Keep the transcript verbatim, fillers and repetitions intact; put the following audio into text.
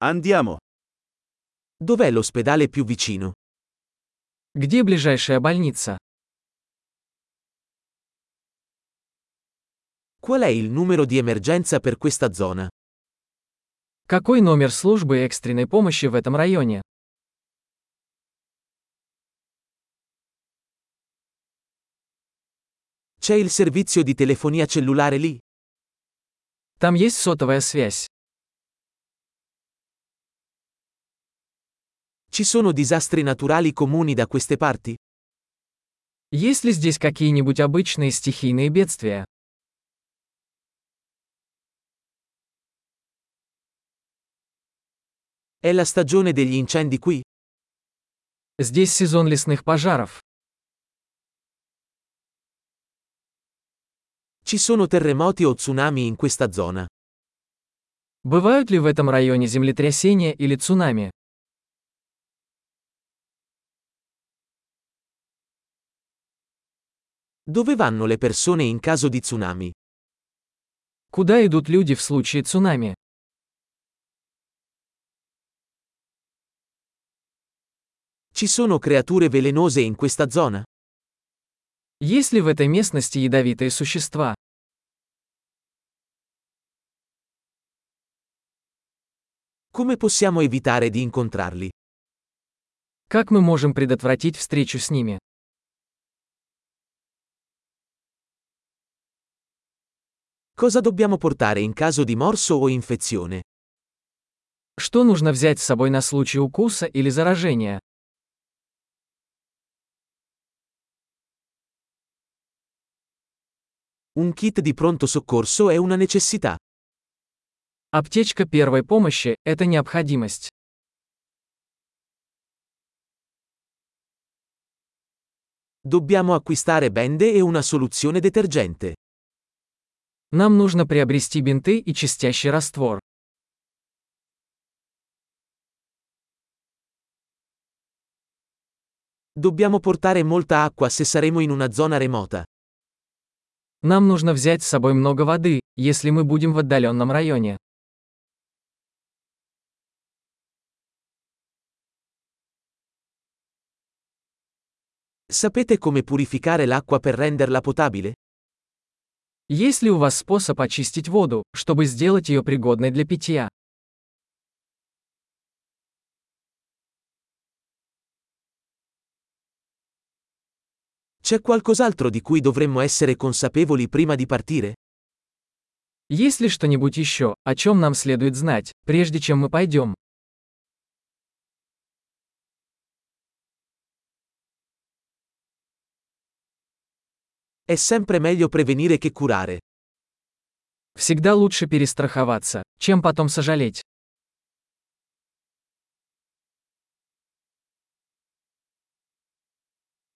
Andiamo. Dov'è l'ospedale più vicino? Где ближайшая больница? Qual è il numero di emergenza per questa zona? Какой номер службы экстренной помощи в этом районе? C'è il servizio di telefonia cellulare lì? Там есть сотовая связь. Ci sono disastri naturali comuni da queste parti? Есть ли здесь какие-нибудь обычные стихийные бедствия? È la stagione degli incendi qui? Здесь сезон лесных пожаров. Ci sono terremoti o tsunami in questa zona? Бывают ли в этом районе землетрясения или цунами? Dove vanno le persone in caso di tsunami? Куда идут люди в случае цунами? Ci sono creature velenose in questa zona? Есть ли в этой местности ядовитые существа? Come possiamo evitare di incontrarli? Как мы можем предотвратить встречу с ними? Cosa dobbiamo portare in caso di morso o infezione? Что нужно взять с собой на случай укуса или заражения? Un kit di pronto soccorso è una necessità. Аптечка первой помощи – это необходимость. Dobbiamo acquistare bende e una soluzione detergente. Нам нужно приобрести бинты и чистящий раствор. Dobbiamo portare molta acqua se saremo in una zona remota. Нам нужно взять с собой много воды, если мы будем в отдаленном районе. Sapete come purificare l'acqua per renderla potabile? Есть ли у вас способ очистить воду, чтобы сделать ее пригодной для питья? C'è qualcos'altro di cui dovremmo essere consapevoli prima di partire? Есть ли что-нибудь еще, о чем нам следует знать, прежде чем мы пойдем? È sempre meglio prevenire che curare. Всегда лучше перестраховаться, чем потом сожалеть.